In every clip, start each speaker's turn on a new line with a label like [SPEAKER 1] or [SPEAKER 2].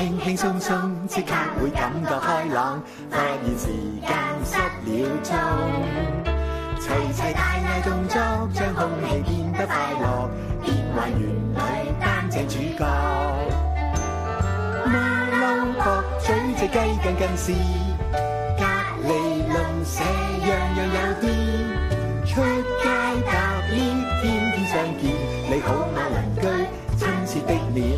[SPEAKER 1] 輕輕鬆鬆，即刻會感覺開朗，發現時間失了蹤。齊齊大嗌動作，將空氣變得快樂，變幻園裏擔正主角。馬騮角咀隻雞更是，隔離鄰舍樣樣有啲。出街搭 lift， 天天相見，你好嗎鄰居，親切的臉。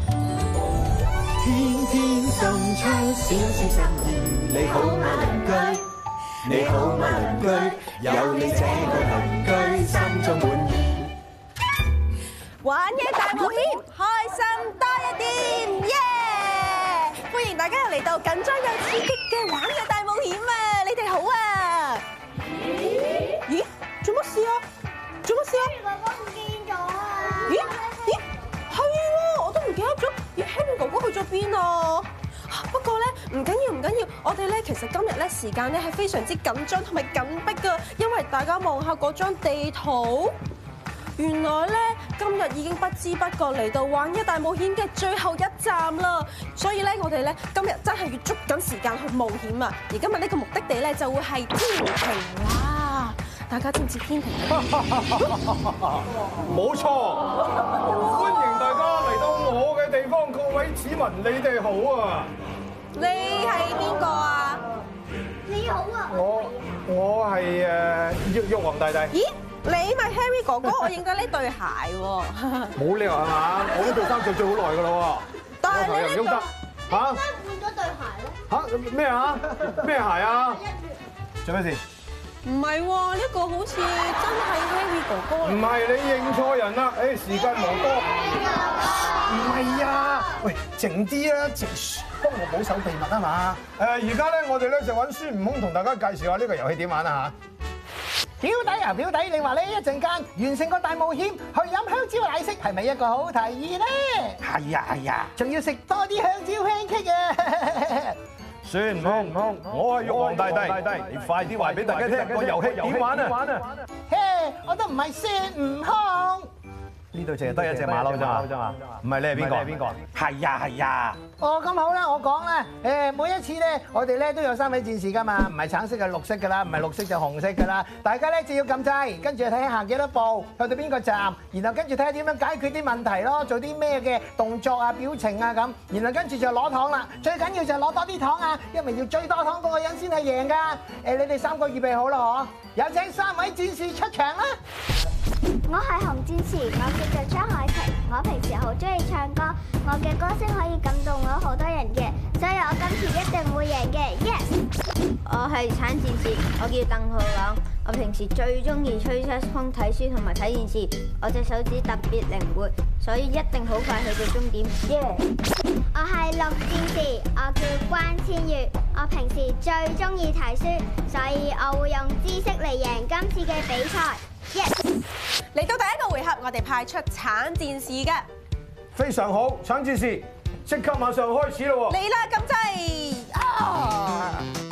[SPEAKER 1] 天天送出少少心意，你好嗎鄰居，你好嗎鄰居，有你這個鄰居，心中滿意。
[SPEAKER 2] 玩嘢大冒險，開心多一點，耶！歡迎大家又嚟到緊張又刺激嘅玩嘢大冒險啊！你哋好啊！咦？做乜事啊？做乜事啊？
[SPEAKER 3] 哥哥唔見咗啊！
[SPEAKER 2] 咦？係喎，我都唔記得咗。咦 ，Harry 哥哥去咗邊啊？不過咧，唔緊要，我哋咧其實今日咧時間咧係非常之緊張同埋緊迫噶，因為大家望下嗰張地圖，原來咧今日已經不知不覺嚟到玩嘢大冒險嘅最後一站啦，所以咧我哋咧今日真係要捉緊時間去冒險啊！而今日呢個目的地咧就會係天庭啦，大家知唔知天庭係咩？
[SPEAKER 4] 冇錯，歡迎大家嚟到我嘅地方，各位市民，你哋好啊！
[SPEAKER 2] 你係邊個啊？
[SPEAKER 3] 你好啊！
[SPEAKER 4] 我係玉皇大帝。
[SPEAKER 2] 咦，你咪 Harry 哥哥，我認得呢對鞋喎。
[SPEAKER 4] 冇理由係嘛？我呢對衫着咗好耐㗎啦喎，
[SPEAKER 2] 但係你呢
[SPEAKER 4] 又唔喐得嚇
[SPEAKER 3] 點解換咗對鞋咧？
[SPEAKER 4] 嚇咩啊？咩鞋啊？做咩事？
[SPEAKER 2] 唔係喎，呢個好似真係 Harry 哥哥。
[SPEAKER 4] 唔係，你認錯人啦！誒，時間無多。唔係啊！喂，靜啲啦，靜，幫我保守秘密啊嘛！而家咧，我哋咧就揾孫悟空同大家介紹下呢個遊戲點玩啊嚇！
[SPEAKER 5] 表弟啊，表弟，你話呢一陣間完成個大冒險，去飲香蕉奶昔係咪一個好提議咧？係啊，仲要食多啲香蕉 pancake 啊！
[SPEAKER 4] 孫悟空，我係玉皇大帝，你快啲話俾大家聽個遊戲點玩啊！
[SPEAKER 5] 嘿，我都唔係孫悟空。
[SPEAKER 4] 呢度淨係得一隻馬騮咋嘛？唔係，你係邊個？係啊！
[SPEAKER 5] 哦，咁好啦，我講啦，每一次咧，我哋咧都有三位戰士噶嘛，唔係橙色就綠色噶啦，唔係綠色就紅色噶啦。大家咧就要撳掣，跟住睇下行幾多步，去到邊個站，然後跟住睇下點樣解決啲問題咯，做啲咩嘅動作啊、表情啊咁，然後跟住就攞糖啦。最緊要就係攞多啲糖啊，因為要最多糖嗰個人先係贏噶。你哋三個預備好啦嗬？有請三位戰士出場啦！
[SPEAKER 3] 我係紅戰士，我叫做張海婷。我平時好中意唱歌，我嘅歌聲可以感動到好多人嘅，所以我今次一定會贏嘅。Yes！
[SPEAKER 6] 我係橙戰士，我叫鄧浩朗。我平時最中意吹吹風、睇書同埋睇電視。我隻手指特別靈活，所以一定好快去到終點。Yeah！
[SPEAKER 3] 我係綠戰士，我叫關千月。我平時最中意睇書，所以我會用知識嚟贏今次嘅比賽。Yes！
[SPEAKER 2] 嚟到第一個回合，我哋派出橙戰士嘅。
[SPEAKER 4] 非常好，橙戰士，即刻馬上開始咯喎！
[SPEAKER 2] 嚟啦，撳掣啊！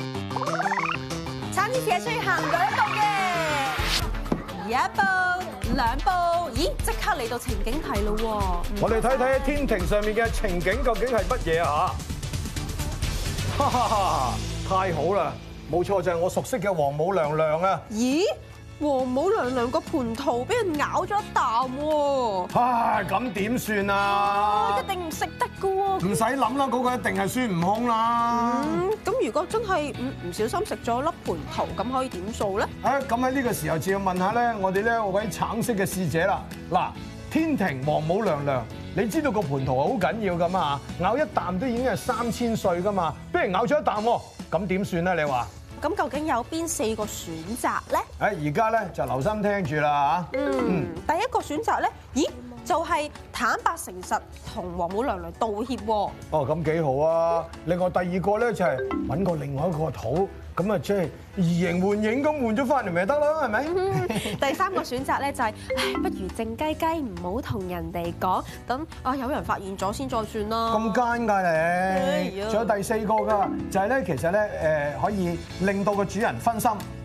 [SPEAKER 2] 橙戰士係需要行2步嘅，1步、2步，咦，即刻嚟到情景題咯喎！
[SPEAKER 4] 我哋睇睇喺天庭上面嘅情景究竟係乜嘢啊嚇！哈哈哈！太好啦，冇錯就係我熟悉嘅王母娘娘啊！
[SPEAKER 2] 咦？王母娘娘個蟠桃俾人咬咗一啖喎！
[SPEAKER 4] 唉，咁點算啊？
[SPEAKER 2] 一定唔食得噶喎！
[SPEAKER 4] 唔使諗啦，嗰個一定係孫悟空啦。
[SPEAKER 2] 咁如果真係唔小心食咗粒蟠桃，咁可以點做咧？
[SPEAKER 4] 咁喺呢個時候就要問下咧，我哋呢位橙色嘅使者啦。嗱，天庭王母娘娘，你知道個蟠桃係好緊要噶嘛？咬一啖都已經係3000歲噶嘛，俾人咬咗一啖喎，咁點算咧？你話？
[SPEAKER 2] 咁究竟有邊4個選擇咧？
[SPEAKER 4] 而家咧就留心聽住啦嚇。
[SPEAKER 2] 第一個選擇咧，咦，就係坦白誠實同王母娘娘道歉喎。
[SPEAKER 4] 哦，咁幾好啊！另外第二個咧就係揾個另外一個肚，咁啊即係移形換影咁換咗翻嚟咪得咯，係咪？
[SPEAKER 2] 第三個選擇咧就係，不如靜雞雞唔好同人哋講，等有人發現咗先再算啦。
[SPEAKER 4] 咁奸㗎你！仲有第4個㗎，就係咧其實咧可以令到個主人分心，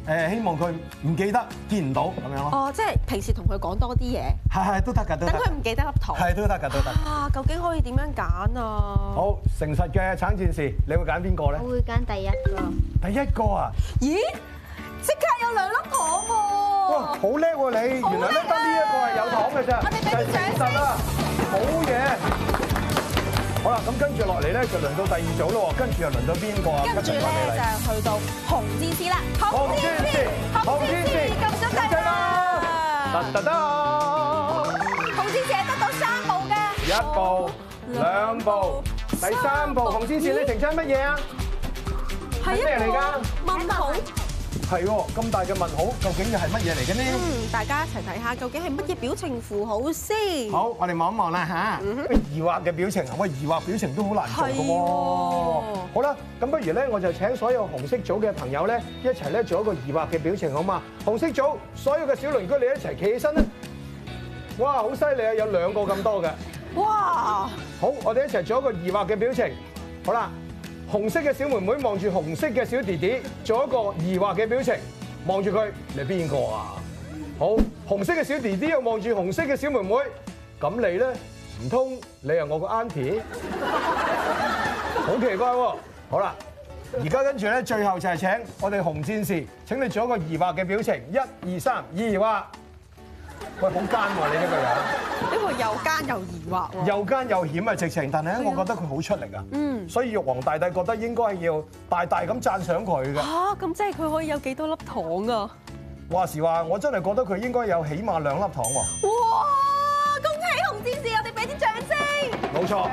[SPEAKER 5] 希望佢唔記得見唔到咁樣咯。
[SPEAKER 2] 哦，即係平時同佢講多啲嘢，
[SPEAKER 5] 係都得㗎，都得。
[SPEAKER 2] 等佢唔記得粒糖。
[SPEAKER 5] 係都得㗎，都得。
[SPEAKER 2] 啊，究竟可以點樣揀啊？
[SPEAKER 5] 好，誠實嘅橙戰士，你會揀邊個咧？
[SPEAKER 6] 我會揀第一個。
[SPEAKER 5] 第一個啊！
[SPEAKER 2] 咦，即刻有2粒糖喎！
[SPEAKER 5] 哇，好叻喎你！原來咧得呢一個係有糖嘅啫，
[SPEAKER 2] 我哋俾啲掌聲
[SPEAKER 5] 啦！好嘢！好啦，咁跟住落嚟咧就輪到第二組咯喎，跟住又輪到邊個啊？
[SPEAKER 2] 跟住咧就去到紅戰士啦，紅戰士，撳咗掣啦！
[SPEAKER 5] 得得，
[SPEAKER 2] 紅戰士係得到3步嘅
[SPEAKER 5] 1步、2步、第3步，紅戰士你停咗乜嘢啊？
[SPEAKER 2] 係
[SPEAKER 5] 咩嚟㗎？
[SPEAKER 2] 問號。
[SPEAKER 5] 係喎，咁大嘅問號，究竟又係乜嘢嚟嘅呢？
[SPEAKER 2] 大家一齊睇下，究竟係乜嘢表情符號先？
[SPEAKER 5] 好，我哋望一望啦嚇。疑惑嘅表情啊，喂，疑惑表情都好難做嘅喎。好啦，咁不如咧，我就請所有紅色組嘅朋友咧，一齊咧做一個疑惑嘅表情，好嘛？紅色組所有嘅小鄰居，你一齊企起身啦！哇，好犀利啊，有2個咁多嘅。
[SPEAKER 2] 哇！
[SPEAKER 5] 好，我哋一齊做一個疑惑嘅表情。好啦。紅色嘅小妹妹望住紅色嘅小弟弟，做一個疑惑嘅表情，望住佢，你邊個啊？好，紅色嘅小弟弟又望住紅色嘅小妹妹，咁你咧？唔通你係我個 auntie？ 好奇怪喎！好啦，而家跟住咧，最後就係請我哋紅戰士，請你做一個疑惑嘅表情，1、2、3，疑惑。喂，好奸喎！你呢個人，
[SPEAKER 2] 呢個又奸又疑惑喎，
[SPEAKER 5] 又奸又險啊！直情，但係咧，我覺得佢好出力啊。所以玉皇大帝覺得應該係要大大咁讚賞佢嘅。
[SPEAKER 2] 嚇，咁即係佢可以有幾多粒糖啊？
[SPEAKER 5] 話時話，我真係覺得佢應該有起碼2粒糖喎。
[SPEAKER 2] 哇！恭喜紅戰士，我哋俾啲掌聲。
[SPEAKER 5] 冇錯。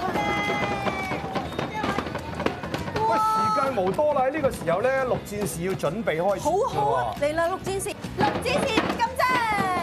[SPEAKER 5] 喂，時間無多啦，喺呢個時候咧，綠戰士要準備開始。
[SPEAKER 2] 好啊，嚟啦，綠戰士，綠戰士撳掣。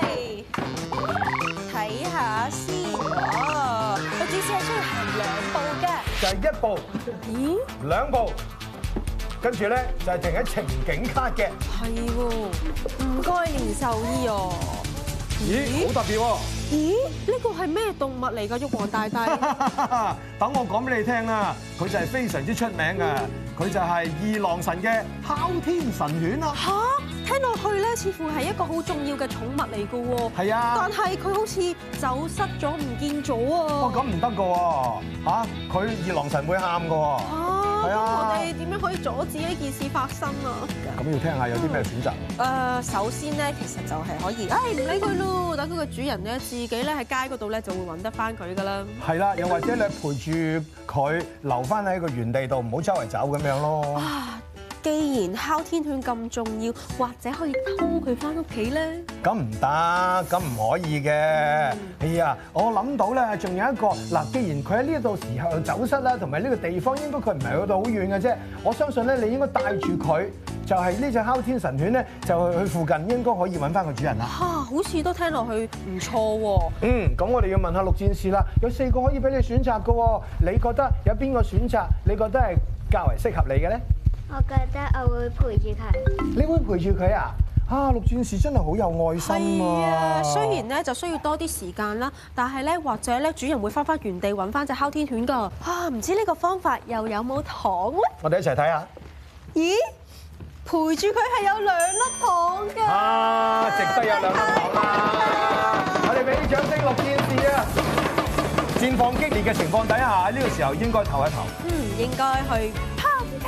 [SPEAKER 2] 睇下先喎，綠戰士係需要行2步嘅，
[SPEAKER 5] 就係1步、
[SPEAKER 2] 咦
[SPEAKER 5] 2步，跟住咧就係停喺情景卡嘅。
[SPEAKER 2] 係喎，唔該連獸醫哦。
[SPEAKER 5] 咦，好特別喎！
[SPEAKER 2] 咦，呢個係咩動物嚟㗎？玉皇大帝。
[SPEAKER 5] 等我講俾你聽啦，佢就係非常之出名嘅，佢就係二郎神嘅哮天神犬啦。
[SPEAKER 2] 嚇，聽落去咧，似乎係一個好重要嘅寵物嚟㗎喎。
[SPEAKER 5] 係啊，
[SPEAKER 2] 但係佢好似走失咗，唔見咗啊。
[SPEAKER 5] 哇，咁唔得㗎喎，嚇，佢二郎神會喊㗎喎。
[SPEAKER 2] 咁
[SPEAKER 5] 係啊
[SPEAKER 2] 我哋點樣可以阻止呢件事發生啊？
[SPEAKER 5] 咁要聽下有啲咩選擇？
[SPEAKER 2] 首先咧，其實就係可以，唔理佢咯，等佢個主人咧自己咧喺街嗰度咧就會揾得翻佢噶啦。
[SPEAKER 5] 係啦，又或者你陪住佢留翻喺個原地度，唔好周圍走咁樣咯。
[SPEAKER 2] 啊，既然哮天犬咁重要，或者可以偷佢翻屋企咧？
[SPEAKER 5] 咁唔得，咁唔可以嘅。哎呀，我諗到咧，仲有一個嗱，既然佢喺呢度時候走失啦，同埋呢個地方應該佢唔係去到好遠嘅啫。我相信咧，你應該帶住佢，就係呢隻哮天神犬咧，就去附近應該可以揾翻個主人啦。
[SPEAKER 2] 好似都聽落去唔錯喎。
[SPEAKER 5] 咁我哋要問下綠戰士啦，有4個可以俾你選擇嘅喎，你覺得有邊個選擇你覺得係較為適合你嘅咧？
[SPEAKER 3] 我覺得我會陪住佢。
[SPEAKER 5] 你會陪住佢啊？綠戰士真係好有愛心啊！
[SPEAKER 2] 雖然咧就需要多啲時間啦，但係咧或者咧主人會翻返原地揾翻隻哮天犬㗎。唔知呢個方法又有冇糖咧？
[SPEAKER 5] 我哋一齊睇下。
[SPEAKER 2] 咦？陪住佢係有2粒糖㗎。
[SPEAKER 5] 值得有2粒糖啦！我哋俾啲掌聲綠戰士啊！戰況激烈嘅情況底下，呢個時候應該唞一唞。
[SPEAKER 2] 應該去拋街。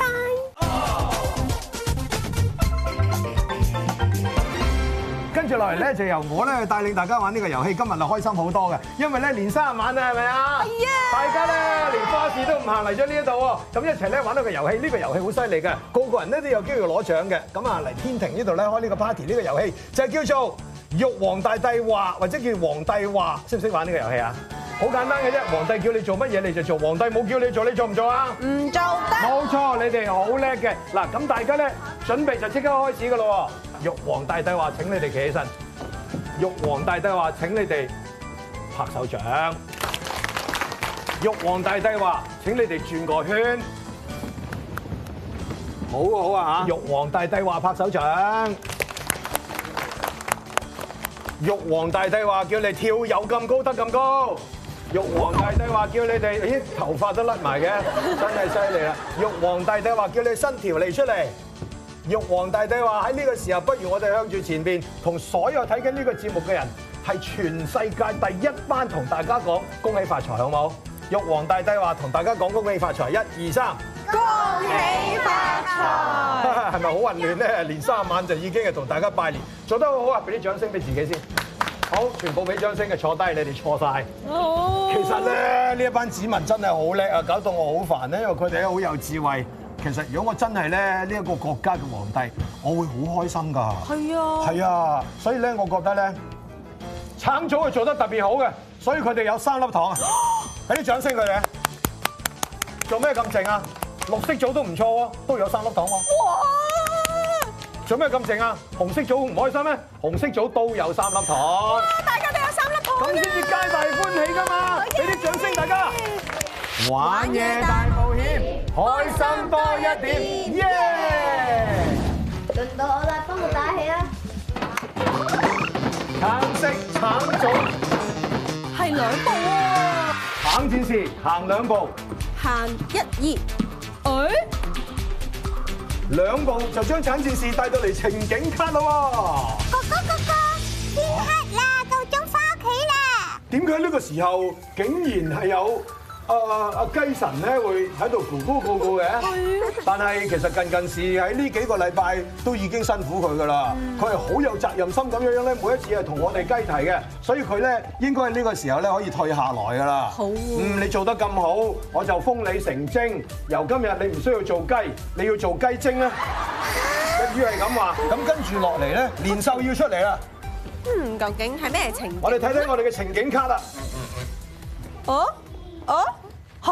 [SPEAKER 5] 跟住落嚟咧，就由我咧帶領大家玩呢個遊戲。今日就開心好多嘅，因為咧年30晚啊，係咪啊？係啊！大家咧連花市都唔行嚟咗呢一度喎，咁一齊咧玩到個遊戲。呢個遊戲好犀利嘅，個個人咧都有機會攞獎嘅。咁啊嚟天庭呢度咧開呢個 party 呢個遊戲就係叫做玉皇大帝話，或者叫皇帝話，識唔識玩呢個遊戲啊？好簡單嘅啫，皇帝叫你做乜嘢你就做，皇帝冇叫你做，你做唔做啊？
[SPEAKER 2] 唔做得。
[SPEAKER 5] 冇錯，你哋好叻嘅。嗱，咁大家咧準備就即刻開始㗎咯喎。玉皇大帝話：請你哋企起身。玉皇大帝話：請你哋拍手掌。玉皇大帝話：請你哋轉個圈。好啊好啊嚇！玉皇大帝話拍手掌。玉皇大帝話叫你跳有咁高得咁高。玉皇大帝話叫你哋，咦頭髮都甩埋嘅，真係犀利啦！玉皇大帝話叫你伸條脷出嚟。
[SPEAKER 4] 玉皇大帝話喺呢個時候，不如我哋向住前邊，同所有睇緊呢個節目嘅人，係全世界第一班同大家講恭喜發財，好冇？玉皇大帝話同大家講恭喜發財，1、2、3，
[SPEAKER 2] 恭喜發財！
[SPEAKER 4] 係咪好混亂咧？年30晚就已經係同大家拜年，做得好好啊！俾啲掌聲俾自己先。好，全部俾掌聲嘅，坐低，你哋錯晒。
[SPEAKER 2] 哦，
[SPEAKER 4] 其實咧呢一班子民真係好叻啊，搞到我好煩咧，因為佢哋咧好有智慧。其實如果我真係咧呢一個國家嘅皇帝，我會好開心㗎。
[SPEAKER 2] 係啊，
[SPEAKER 4] 係啊，所以咧我覺得咧橙組係做得特別好嘅，所以佢哋有3粒糖啊！俾啲掌聲佢哋。做咩咁靜啊？綠色組都唔錯喎，都有3粒糖喎。
[SPEAKER 2] 哇！
[SPEAKER 4] 做咩咁靜啊？紅色組唔開心咩？紅色組都有3粒糖。
[SPEAKER 2] 哇！大家都有3粒糖，
[SPEAKER 4] 咁先至皆大歡喜㗎嘛！俾啲掌聲大家。玩嘢大冒險，開心多一點，耶！
[SPEAKER 6] 輪到我啦，幫我打氣啦！
[SPEAKER 4] 橙色橙組
[SPEAKER 2] 係2步喎，
[SPEAKER 4] 橙戰士行2步，
[SPEAKER 2] 行1、2，
[SPEAKER 4] 2步就將橙戰士帶到嚟情景卡咯
[SPEAKER 3] 哥哥，天黑啦，夠鐘返屋企啦。
[SPEAKER 4] 喎！點解呢個時候竟然係有阿雞神咧會喺度咕咕咕咕嘅？但係其實近視喺呢幾個禮拜都已經辛苦佢噶啦，佢係好有責任心咁樣咧，每一次係同我哋雞提嘅，所以佢咧應該喺呢個時候咧可以退下來噶啦。
[SPEAKER 2] 好
[SPEAKER 4] 你做得咁好，我就封你成精。由今日你唔需要做雞，你要做雞精啦。一於係咁話，咁跟住落嚟咧，年獸要出嚟啦。
[SPEAKER 2] 究竟係咩情景？
[SPEAKER 4] 我哋睇睇我哋嘅情景卡啦。
[SPEAKER 2] 嚇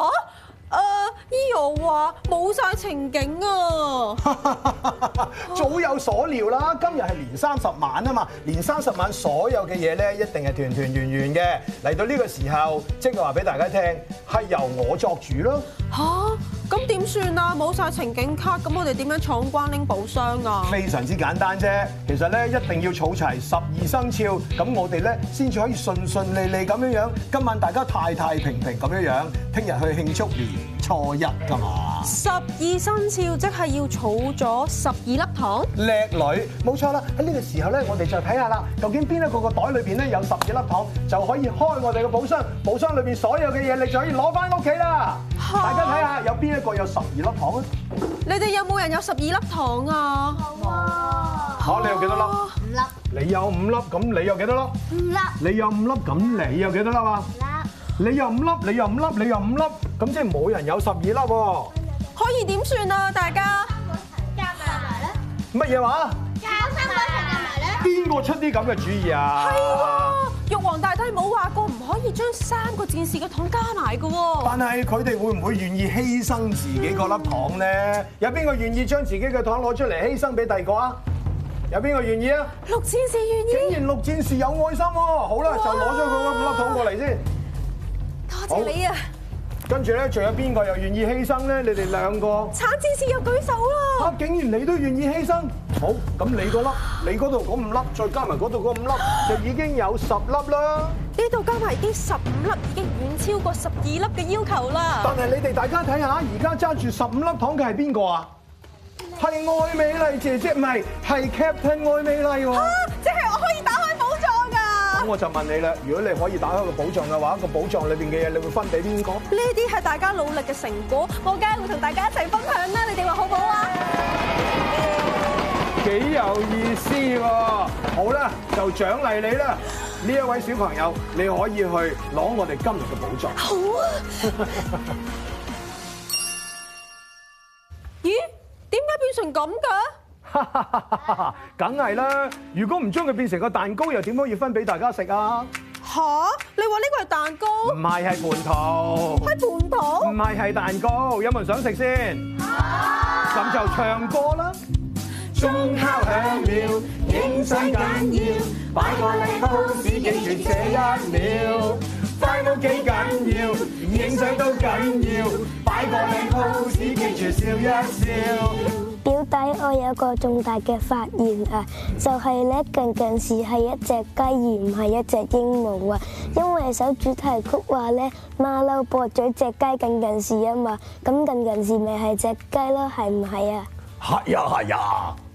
[SPEAKER 2] ！Eo 話冇晒情景啊！
[SPEAKER 4] 早有所料啦，今日係年30晚啊嘛，年30晚所有嘅嘢咧一定係團團圓圓嘅。嚟到呢個時候，即係話俾大家聽，係由我作主咯。
[SPEAKER 2] 嚇！咁點算啊？冇晒情景卡，咁我哋點樣闖關拎寶箱啊？
[SPEAKER 4] 非常之簡單啫，其實咧一定要儲齊12生肖，咁我哋咧先至可以順順利利咁樣樣。今晚大家太太平平咁樣樣，聽日去慶祝年初一㗎嘛。
[SPEAKER 2] 12生肖即係要儲咗12粒糖。
[SPEAKER 4] 叻女，冇錯啦！喺呢個時候咧，我哋就睇下啦，究竟邊一個個袋裏邊咧有12粒糖，就可以開我哋嘅寶箱。寶箱裏邊所有嘅嘢，你就可以攞翻屋企啦。大家睇下，有邊一個有12粒糖啊？
[SPEAKER 2] 你哋有冇人有12粒糖啊？
[SPEAKER 4] 好，你有幾多粒
[SPEAKER 6] ？5粒。
[SPEAKER 4] 你有5粒，咁你有幾多粒
[SPEAKER 3] 5粒，
[SPEAKER 4] 你有5粒，咁你有幾多粒啊？你有5粒，你有5粒，你有5粒，咁即係冇人有12粒喎。
[SPEAKER 2] 可以點算啊？大家
[SPEAKER 3] 加埋咧，
[SPEAKER 4] 乜嘢話？
[SPEAKER 3] 加3個一齊加埋咧。
[SPEAKER 4] 邊個出啲咁嘅主意啊？
[SPEAKER 2] 係喎，玉皇大帝冇話過唔可以將3個戰士嘅糖加埋嘅喎。
[SPEAKER 4] 但係佢哋會唔會願意犧牲自己嗰粒糖咧？有邊個願意將自己嘅糖攞出嚟犧牲俾第二個啊？有邊個願意啊？
[SPEAKER 2] 6戰士願意。
[SPEAKER 4] 竟然6戰士有愛心喎！好啦，就攞咗佢嗰5粒糖過嚟先。
[SPEAKER 2] 多謝你啊！
[SPEAKER 4] 跟住咧，仲有邊個又願意犧牲咧？你哋2個。
[SPEAKER 2] 橙戰士又舉手啦！
[SPEAKER 4] 竟然你都願意犧牲？好，咁你嗰粒，你嗰度嗰5粒，再加埋嗰度嗰5粒，就已經有10粒啦。
[SPEAKER 2] 呢度加埋已經15粒，已經遠超過12粒嘅要求啦。
[SPEAKER 4] 但係你哋大家睇下，而家揸住15粒糖嘅係邊個啊？係愛美麗姐姐，唔係，係 Captain 愛美麗喎。
[SPEAKER 2] 即係我可以打開寶藏㗎！
[SPEAKER 4] 咁我就問你啦，如果你可以打開個寶藏嘅話，個寶藏裏邊嘅嘢，你會分俾邊個？
[SPEAKER 2] 呢啲係大家努力嘅成果，我梗係會同大家一齊分享啦！你哋話好唔好啊？
[SPEAKER 4] 幾有意思喎！好啦，就獎勵你啦！呢一位小朋友，你可以去攞我哋今日嘅寶藏。
[SPEAKER 2] 好啊！咦？點解變成咁㗎？
[SPEAKER 4] 梗係啦！如果唔將佢變成個蛋糕，又點可以分俾大家食啊？
[SPEAKER 2] 吓？你話呢個係蛋糕？
[SPEAKER 4] 唔係，係蟠桃。
[SPEAKER 2] 係蟠桃？
[SPEAKER 4] 唔係，係蛋糕。有冇人想食先？咁就唱歌啦！鐘敲響了，影相緊要，擺個靚 pose 記住這1秒，快都幾緊要，影相都緊要，擺個靚 pose 記住笑一笑。
[SPEAKER 7] 表弟，我有個重大嘅發現啊，就係咧近視係一隻雞而唔係一隻鸚鵡啊，因為首主題曲話咧馬騮駁嘴隻雞近視啊嘛，咁近視咪係隻雞咯，係唔係啊？
[SPEAKER 4] 係呀係呀，